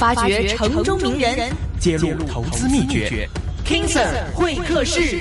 發掘城中名人， 揭露投資秘訣。 King Sir 會客室。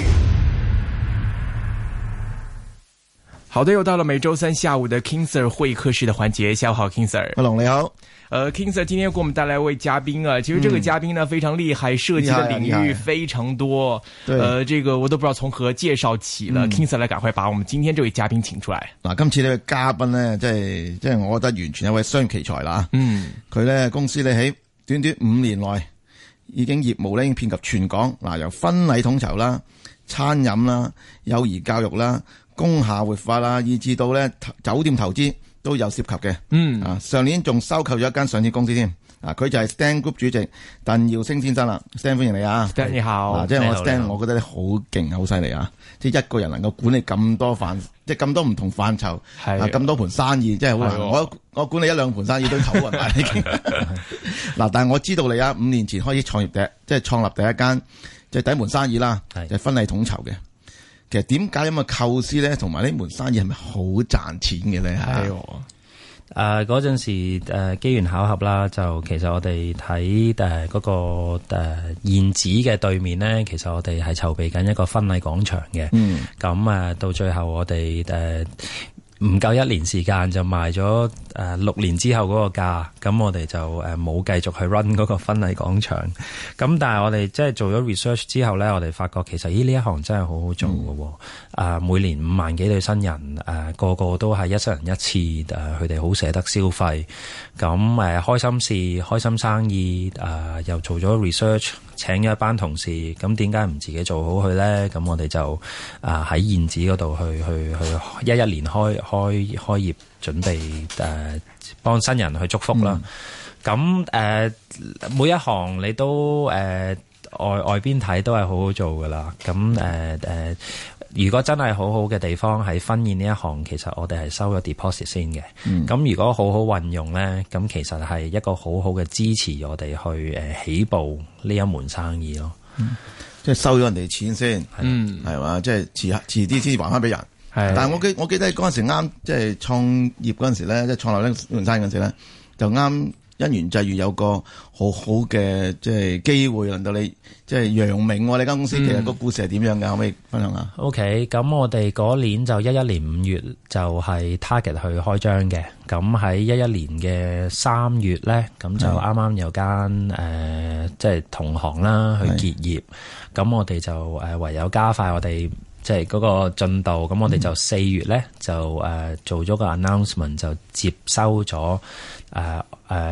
好的，又到了每周三下午的 King Sir 會客室的環節。下午好 King Sir。 阿龍你好。 King Sir 今天給我們帶來一位嘉賓啊，其實這個嘉賓呢非常厲害，涉及的領域非常多。這個我都不知道從何介紹起了。King Sir 來趕快把我們今天這位嘉賓請出來。 嗱，今次呢個嘉賓呢，即係我覺得完全係一位雙奇才啦。佢呢公司呢喺短短5年內已經業務呢已經遍及全港。嗱，由婚禮統籌啦、餐飲啦、幼兒教育啦、工廈活化啦，以至到呢酒店投資都有涉及嘅。上年仲收購咗一間上市公司添。佢就係 Stan Group 主席鄧耀升先生啦。Stan 歡迎你啊。 Stan 你好。 即係我 Stan，我覺得你好勁，好犀利啊！即係一個人能夠管理咁多即係咁多唔同範疇，咁多盤生意，真係好難。我管理1-2盤生意都頭暈埋已經。嗱，但係我知道你啊，5年前開始創立第一間即係第一門生意啦，就係婚禮統籌嘅。其實點解咁嘅構思咧，同埋呢門生意係咪好賺錢嘅咧？ 嗰陣時機緣巧合啦，就其實我哋睇嗰個現址嘅對面咧，其實我哋係籌備緊一個婚禮廣場嘅。咁到最後我哋唔夠1年時間就賣咗6年之後嗰個價，咁我哋就冇繼續去 run 嗰個婚禮廣場。咁但係我哋即係做咗 research 之後咧，我哋發覺其實呢一行真係好好做嘅。每年5萬幾對新人，個個都係一生人一次，佢哋好捨得消費。咁開心事、開心生意，又做咗 research， 請咗一班同事。咁點解唔自己做好佢咧？咁我哋就喺現址嗰度去11年開業，準備幫新人去祝福啦。咁每一行你都外邊睇都係好好做噶啦。咁如果真係好好嘅地方喺婚宴呢一行，其實我哋係收咗 deposit 先嘅。咁如果好好運用咧，咁其實係一個好好嘅支持我哋去起步呢一門生意咯。 即係收咗人哋錢先，係嘛？即係遲啲先還翻俾人。但係我記得嗰陣時啱即係創業嗰陣時咧，即係創立呢門生意嗰陣時咧，就啱因緣際遇有個好好嘅即係機會，令到你即係揚名喎。你間公司其實個故事係點樣嘅？可唔可以分享下 ？OK， 咁我哋嗰年就11年5月就係 target 去開張嘅。咁喺11年嘅3月咧，咁就啱啱有間即係同行啦去結業。咁我哋就唯有加快我哋即係嗰個進度。咁我哋就4月咧就做咗個 announcement， 就接收咗呢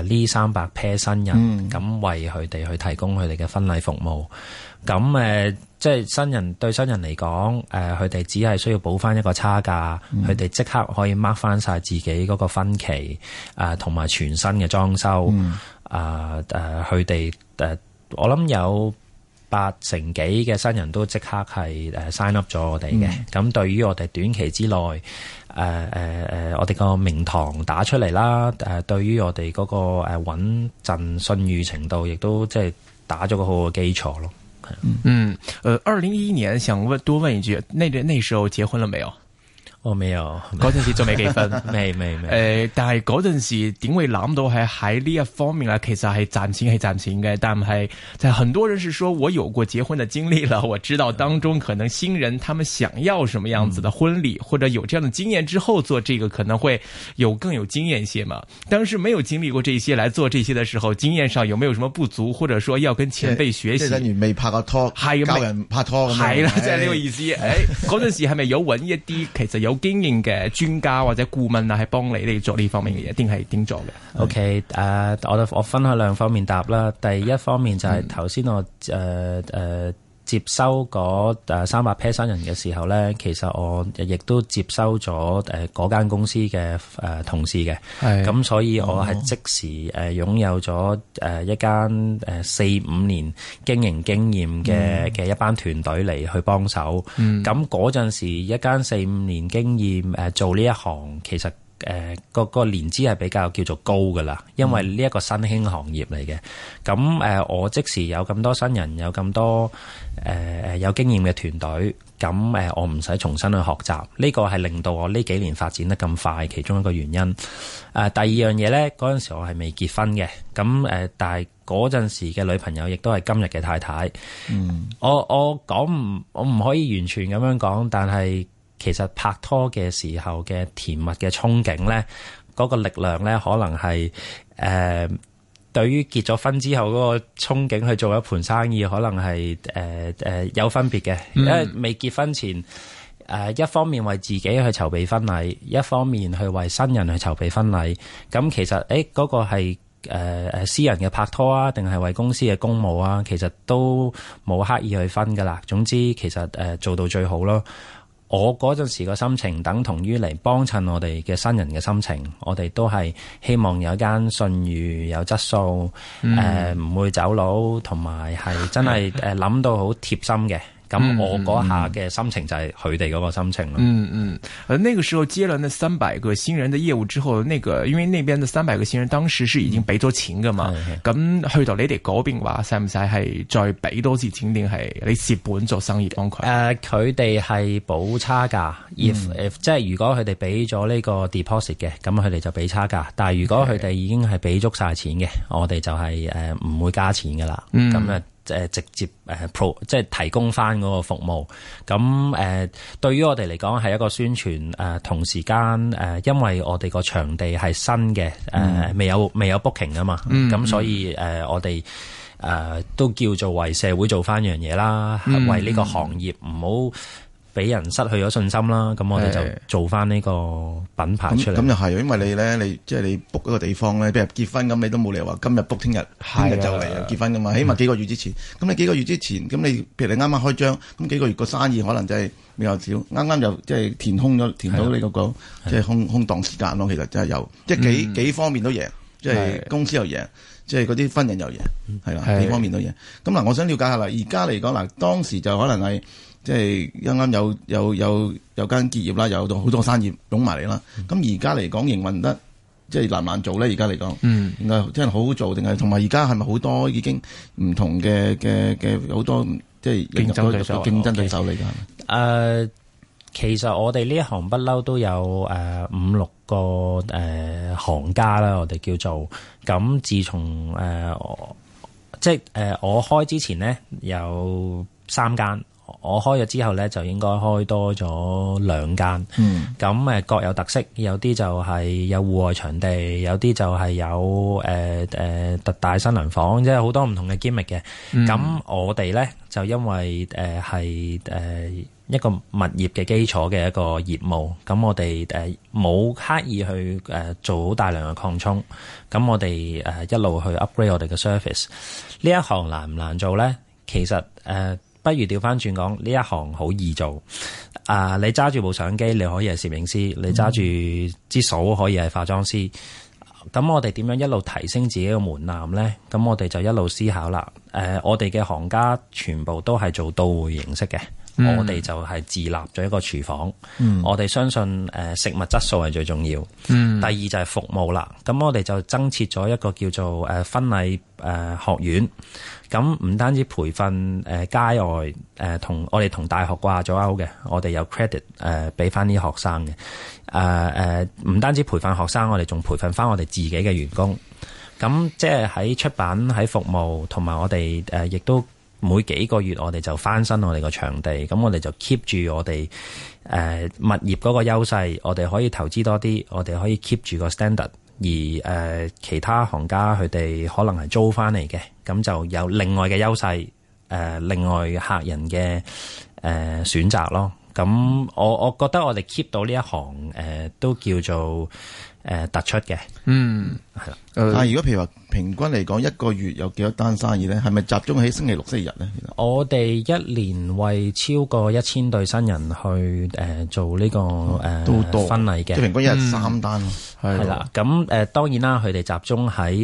300 pair 新人，咁為佢哋去提供佢哋嘅婚禮服務。咁即係對新人嚟講，佢哋只係需要補翻一個差價，佢哋即刻可以 mark 翻晒自己嗰個婚期，同埋全新嘅裝修。佢哋我諗有80%幾嘅新人都即刻係sign up 咗我哋嘅。咁對於我哋短期之內，我哋個名堂打出嚟啦。對於我哋嗰個穩陣信譽程度，亦都即係打咗個好嘅基礎咯。 2011年想多問一句，那時候結婚了沒有？ 我沒有， 嗰陣時仲未結婚， 未。 但係嗰陣時點會諗到係喺呢一方面咧？其實係賺錢嘅，但係在很多人是說我有過結婚的經歷了，我知道當中可能新人他們想要什麼樣子的婚禮，或者有這樣的經驗之後做這個可能會更有經驗些嘛。當時沒有經歷過這些來做這些的時候，經驗上有沒有什麼不足，或者說要跟前輩學習？ 即係等於未拍過拖，教人拍拖咁樣。 係啦，即係呢個意思。嗰陣時係咪有揾一啲其實有經驗嘅專家或者顧問啊，係幫你做呢方面嘅嘢，定係點做嘅 ？OK，我分開2方面答啦。第一方面就係頭先我接收嗰300 pair 新人嘅時候咧，其實我亦都接收咗嗰間公司嘅同事嘅。咁所以我係即時擁有咗一間4-5年經營經驗嘅一班團隊嚟去幫手。咁嗰陣時一間4-5年經驗做呢一行，其實個年資係比較叫做高噶啦，因為呢一個新興行業嚟嘅。咁我即時有咁多新人，有咁多有經驗嘅團隊，咁我唔使重新去學習，呢個係令到我呢幾年發展得咁快，其中一個原因。第二樣嘢咧，嗰陣時我係未結婚嘅，咁但係嗰陣時嘅女朋友亦都係今日嘅太太。我唔可以完全咁樣講，但係其實拍拖嘅時候嘅甜蜜嘅憧憬咧，嗰個力量咧，可能係對於結咗婚之後嗰個憧憬去做一盤生意，可能係有分別嘅。因為未結婚前，一方面為自己去籌備婚禮，一方面去為新人去籌備婚禮。咁其實嗰個係私人嘅拍拖啊，定係為公司嘅公務啊，其實都冇刻意去分噶啦。總之其實做到最好咯。我嗰陣時個心情等同於嚟幫襯我哋嘅新人嘅心情，我哋都係希望有一間信譽有質素，唔會走佬，同埋係真係諗到好貼心嘅。咁我嗰下嘅心情就係佢哋嗰個心情咯。 那個時候接了那300個新人的業務之後，因為那邊的300個新人當時是已經俾咗錢噶嘛，咁去到你哋嗰邊話，使唔使係再俾多次錢，定係你蝕本做生意幫佢？ 佢哋係補差價，即係如果佢哋俾咗呢個 deposit 嘅，咁佢哋就俾差價。但係如果佢哋已經係俾足晒錢嘅，我哋就係唔會加錢噶啦。咁直接即係提供翻嗰個服務。咁對於我哋嚟講係一個宣傳。同時間因為我哋個場地係新嘅，未有 booking 啊嘛。咁所以我哋都叫做為社會做翻樣嘢啦，為呢個行業唔好俾人失去咗信心啦。咁我哋就做翻呢個品牌出嚟。咁又係，因為你咧，你即係你 book 一個地方咧，譬如結婚咁，你都冇理由話今日 book，聽日就嚟結婚噶嘛。起碼幾個月之前。咁你幾個月之前，咁你譬如你啱啱開張，咁幾個月個生意可能真係比較少。啱啱就即係填到你嗰個即係空檔時間咯。其實真係有，即係幾方面都贏，即係公司又贏，即係嗰啲婚人又贏，係啦，幾方面都贏。咁嗱，我想了解下啦，而家嚟講嗱，當時就可能係。即係啱啱有間結業啦，有好多生意湧埋嚟啦。咁而家嚟講營運得即係難唔難做咧？而家嚟講，應該真係好好做定係？同埋而家係咪好多已經唔同嘅好多即係競爭對手嚟㗎？ 其實我哋呢一行不嬲都有5-6個行家啦，我哋叫做咁。自從我開之前呢，有3間。我開咗之後咧，就應該開多咗2間。咁各有特色，有啲就係有戶外場地，有啲就係有特大新娘房，即係好多唔同嘅 gimmick 嘅。咁我哋咧就因為係一個物業嘅基礎嘅一個業務，咁我哋冇刻意去做好大量嘅擴充。咁我哋一路去 upgrade 我哋嘅 service。呢一行難唔難做咧？其實不如調翻轉講，呢一行好易做。你揸住部相機，你可以係攝影師；你揸住支掃，可以係化妝師。咁我哋點樣一路提升自己嘅門檻呢？咁我哋就一路思考啦。我哋嘅行家全部都係做到會形式嘅。我哋就係自立咗一個廚房。我哋相信食物質素係最重要。第二就係服務啦。咁我哋就增設咗一個叫做婚禮學院。咁唔單止培訓街外我哋同大學掛咗鈎嘅，我哋有 credit 俾翻啲學生嘅。唔單止培訓學生，我哋仲培訓翻我哋自己嘅員工。咁即係喺出版、喺服務，同埋我哋亦都每幾個月我哋就翻新我哋個場地。咁我哋就 keep 住我哋物業嗰個優勢，我哋可以投資多啲，我哋可以 keep 住個 standard。而其他行家佢哋可能係租翻嚟嘅，咁就有另外嘅優勢，另外客人嘅選擇咯。咁我覺得我哋 keep 到呢一行都叫做突出嘅。係啦。 但係如果譬如話平均嚟講，一個月有幾多單生意咧？係咪集中喺星期六、星期日咧？ 我哋一年為超過1000對新人去做呢個都多婚禮嘅， 即係平均一日3單。 係啦，咁當然啦，佢哋集中喺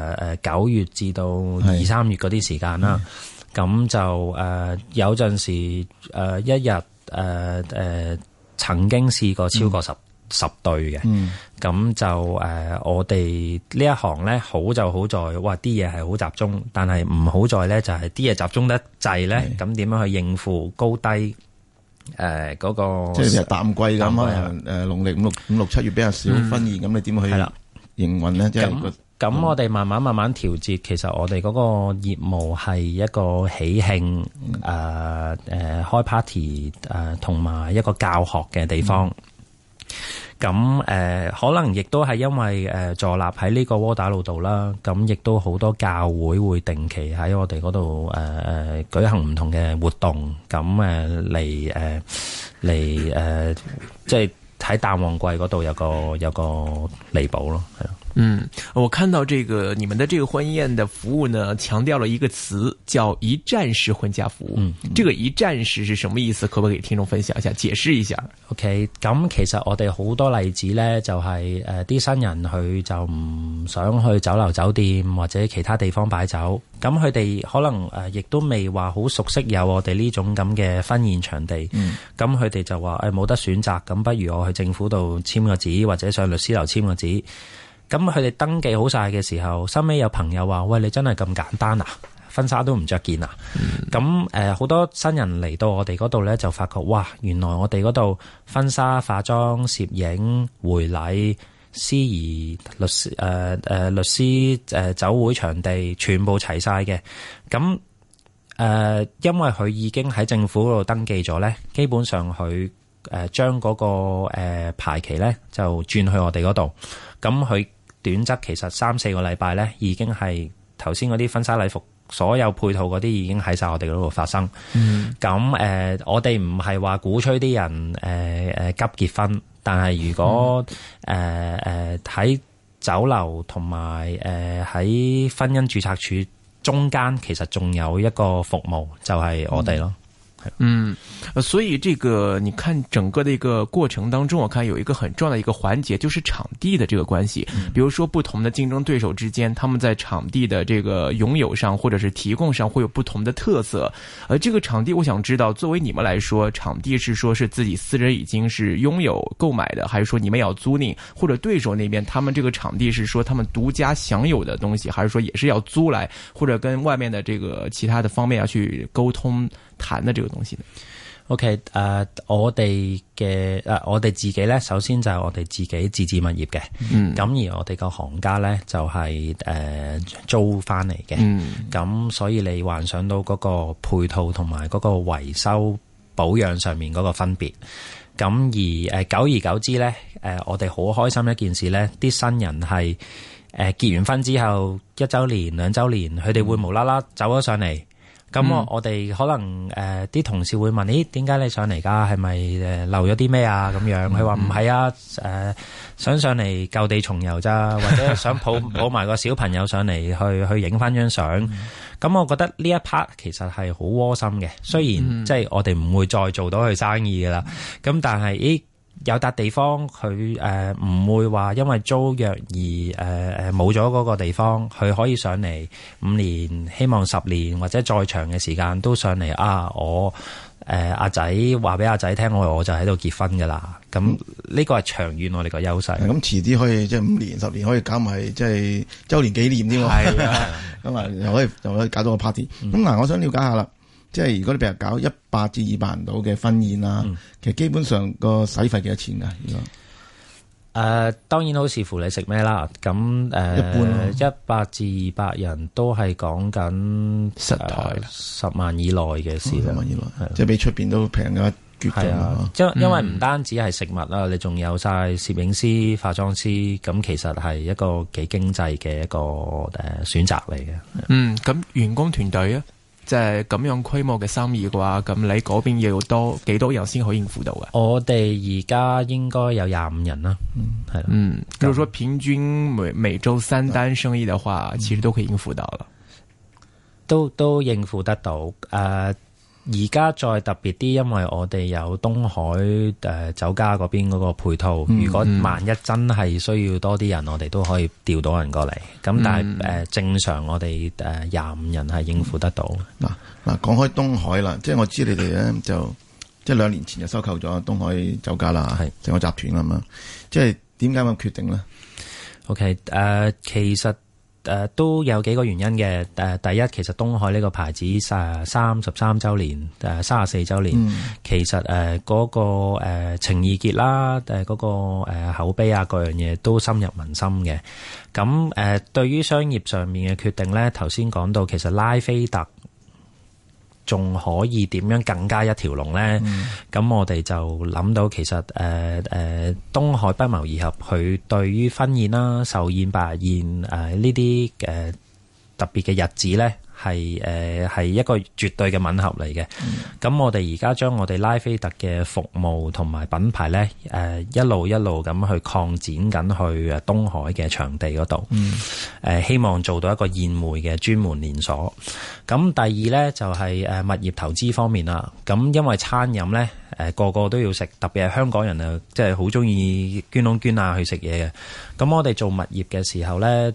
9月至到2、3月嗰啲時間啦。咁就有陣時一日曾經試過超過 10對嘅。咁就我哋呢一行咧，好就好在，哇啲嘢係好集中，但係唔好在咧就係啲嘢集中得滯咧，咁點樣去應付高低嗰個？即係淡季咁啊，農曆五六七月比較少婚宴，咁你點去營運咧？即係咁我哋慢慢調節，其實我哋嗰個業務係一個喜慶開 party 同埋一個教學嘅地方。咁可能亦都係因為坐立喺呢個窩打老道啦，咁亦都好多教會會定期喺我哋嗰度舉行唔同嘅活動，咁嚟即係喺淡旺季嗰度有個彌補咯，係咯。 我看到這個你們的這個婚宴的服務呢，強調了一個詞叫一站式婚嫁服務。這個一站式是什麼意思？可不可以給聽眾分享一下，解釋一下 ？OK， 咁其實我哋好多例子呢，就係啲新人佢就唔想去酒樓酒店或者其他地方擺酒，咁佢哋可能亦都未話好熟悉有我哋呢種咁嘅婚宴場地，咁佢哋就話冇得選擇，咁不如我去政府度簽個紙或者上律師樓簽個紙。咁佢哋登記好晒嘅時候，收尾有朋友話：喂，你真係咁簡單啊？婚紗都唔着件啊？咁好多新人嚟到我哋嗰度咧，就發覺哇，原來我哋嗰度婚紗、化妝、攝影、回禮、司儀、律師、酒會場地全部齊晒嘅。咁因為佢已經喺政府嗰度登記咗咧，基本上佢將嗰個排期咧就轉去我哋嗰度，咁佢短則其實3-4個禮拜咧，已經係頭先嗰啲婚紗禮服所有配套嗰啲已經喺晒我哋嗰度發生。咁我哋唔係話鼓吹啲人急結婚，但係如果喺酒樓同埋喺婚姻註冊處中間，其實仲有一個服務就係我哋咯。 所以這個你看整個的一個過程當中，我看有一個很重要的一個環節，就是場地的這個關係。比如說不同的競爭對手之間，他們在場地的這個擁有上或者是提供上會有不同的特色。而這個場地我想知道，作為你們來說，場地是說是自己私人已經是擁有購買的，還是說你們要租賃，或者對手那邊他們這個場地是說他們獨家享有的東西，還是說也是要租來，或者跟外面的這個其他的方面要去溝通談的這個東西呢 ？OK， 我哋自己咧，首先就係我哋自己自置物業嘅，咁而我哋個行家咧就係租翻嚟嘅，咁所以你幻想到嗰個配套同埋嗰個維修保養上面嗰個分別，咁而久而久之咧，我哋好開心一件事咧，啲新人係結完婚之後1週年、2週年，佢哋會無啦啦走咗上嚟。咁我哋可能啲同事會問：咦，點解你上嚟㗎？係咪漏咗啲咩啊？咁樣佢話唔係啊，想上嚟舊地重遊咋，或者想抱埋個小朋友上嚟去影翻張相。咁我覺得呢一 part 其實係好窩心嘅。雖然即係我哋唔會再做到佢生意㗎啦，咁但係有笪地方佢唔會話因為租約而冇咗嗰個地方，佢可以上嚟5年，希望10年或者再長嘅時間都上嚟啊！我阿仔話俾阿仔聽，我就喺度結婚㗎啦。咁呢個係長遠我哋個優勢。咁遲啲可以即係5年10年可以搞埋即係週年紀念添喎。係啊，咁啊又可以搞到個 party。咁我想了解下啦。即係如果你譬如搞100至200人到嘅婚宴啦，其實基本上個使費幾多錢㗎？如果當然好視乎你食咩啦。咁一般100至200人都係講緊實台 10萬以內嘅事啦。10 萬以內，即係比出邊都平嘅絕對。係啊， 因為唔單止係食物啦，你仲有晒攝影師、化妝師，咁其實係一個幾經濟嘅一個選擇嚟嘅。 咁員工團隊啊？即係咁樣規模嘅生意嘅話，咁你嗰邊要幾多人先可以應付到嘅？我哋而家應該有25人啦，係啦。 如果說平均每週3單生意嘅話，其實都可以應付到啦。 都應付得到。而家再特別啲，因為我哋有東海酒家嗰邊嗰個配套，如果萬一真係需要多啲人，我哋都可以調到人過嚟。咁但係正常我哋25人係應付得到。 嗱，講開東海啦，即係我知你哋咧就即係2年前就收購咗東海酒家啦，係成個集團啦嘛。即係點解咁決定咧 ？OK， 其實都有幾個原因嘅。第一，其實東海呢個牌子33週年34週年，其實嗰個情意結啦，嗰個口碑啊，各樣嘢都深入民心嘅。咁對於商業上面嘅決定咧，頭先講到其實拉菲特仲可以點樣更加一條龍咧？咁我哋就諗到其實東海不謀而合，佢對於婚宴啦、壽宴、百日宴呢啲特別嘅日子咧，係一個絕對嘅吻合嚟嘅。咁我哋而家將我哋拉菲特嘅服務同埋品牌咧，一路咁去擴展緊去東海嘅場地嗰度。希望做到一個宴會嘅專門連鎖。咁第二咧就係物業投資方面啦。咁因為餐飲咧，個個都要食，特別係香港人啊，即係好中意捐窿捐罅去食嘢嘅。咁我哋做物業嘅時候咧，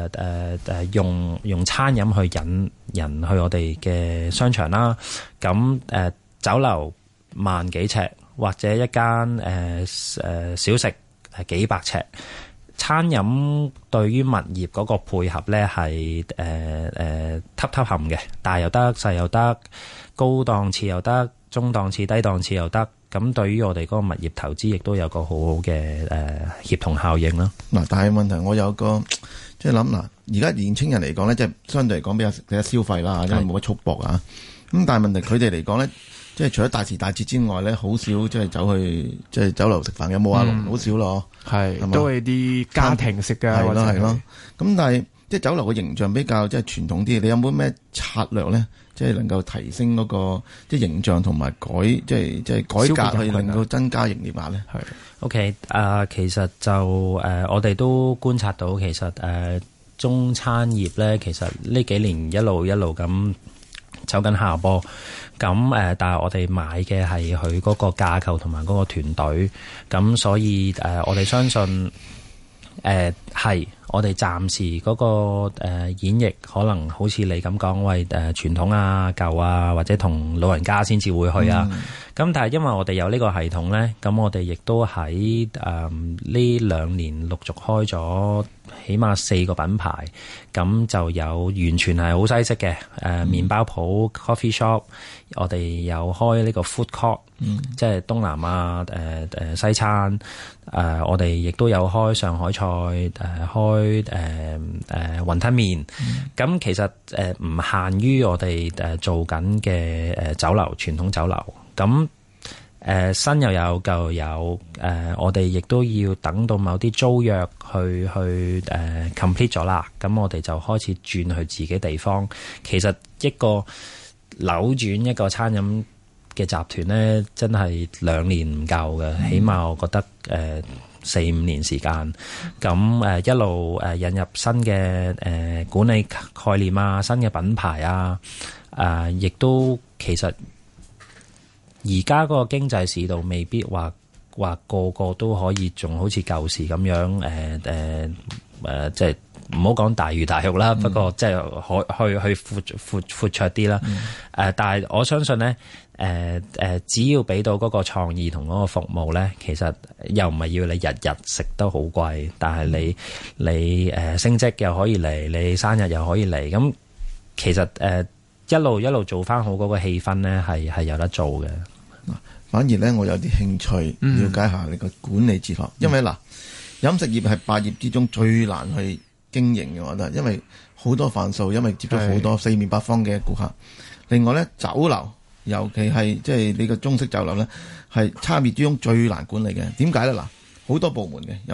用餐飲去引人去我哋嘅商場啦。咁酒樓萬幾尺，或者一間小食幾百尺。餐飲對於物業嗰個配合咧係揼冚嘅，大又得，細又得，高檔次又得，中檔次、低檔次又得。咁對於我哋嗰個物業投資，亦都有個好好嘅協同效應啦。 嗱，但係問題我有個即係諗嗱，而家年青人嚟講咧，即係相對嚟講比較消費啦，因為冇乜束縛啊。咁但係問題佢哋嚟講咧，即係除咗大時大節之外咧，好少即係走去即係酒樓食飯，有冇啊？好少咯，係都係啲家庭式嘅， 係咯。咁但係即係酒樓嘅形象比較即係傳統啲，你有冇咩策略咧？即係能夠提升嗰個即係形象同埋即係改革，去令到增加營業額咧。係 OK， 其實就我哋都觀察到，其實中餐業咧，其實呢幾年一路咁走緊下坡。咁但係我哋買嘅係佢嗰個架構同埋嗰個團隊，咁所以我哋相信係我哋暫時嗰個演繹可能好似你咁講，為傳統啊、舊啊，或者同老人家先至會去啊。咁但係因為我哋有呢個系統咧，咁我哋亦都喺呢2年陸續開咗起碼4個品牌，咁就有完全係好西式嘅麵包鋪 coffee shop， 我哋有開呢個 food court，即係東南亞西餐，我哋亦都有開上海菜，開雲吞麵。咁其實唔限於我哋做緊嘅酒樓，傳統酒樓。咁新又有舊又有，我哋亦都要等到某啲租約去complete 咗啦，咁我哋就開始轉去自己地方。其實一個扭轉一個餐飲嘅集團咧，真係2年唔夠嘅，起碼我覺得4-5年時間。咁一路引入新嘅管理概念啊，新嘅品牌啊，亦都其實而家嗰個經濟市道未必話個個都可以仲好似舊時咁樣即係唔好講大魚大肉啦，不過即係去闊綽啲啦。但係我相信咧，只要俾到嗰個創意同嗰個服務咧，其實又唔係要你日日食得好貴，但係你升職又可以嚟，你生日又可以嚟，咁其實一路做翻好嗰個氣氛咧，係有得做嘅。 反而咧，我有啲興趣了解下你個管理哲學，因為嗱，飲食業係百業之中最難去經營嘅，我覺得，因為好多範數，因為接觸好多四面八方嘅顧客。另外咧，酒樓尤其係即係你個中式酒樓咧，係差別之中最難管理嘅。點解咧？嗱，好多部門嘅。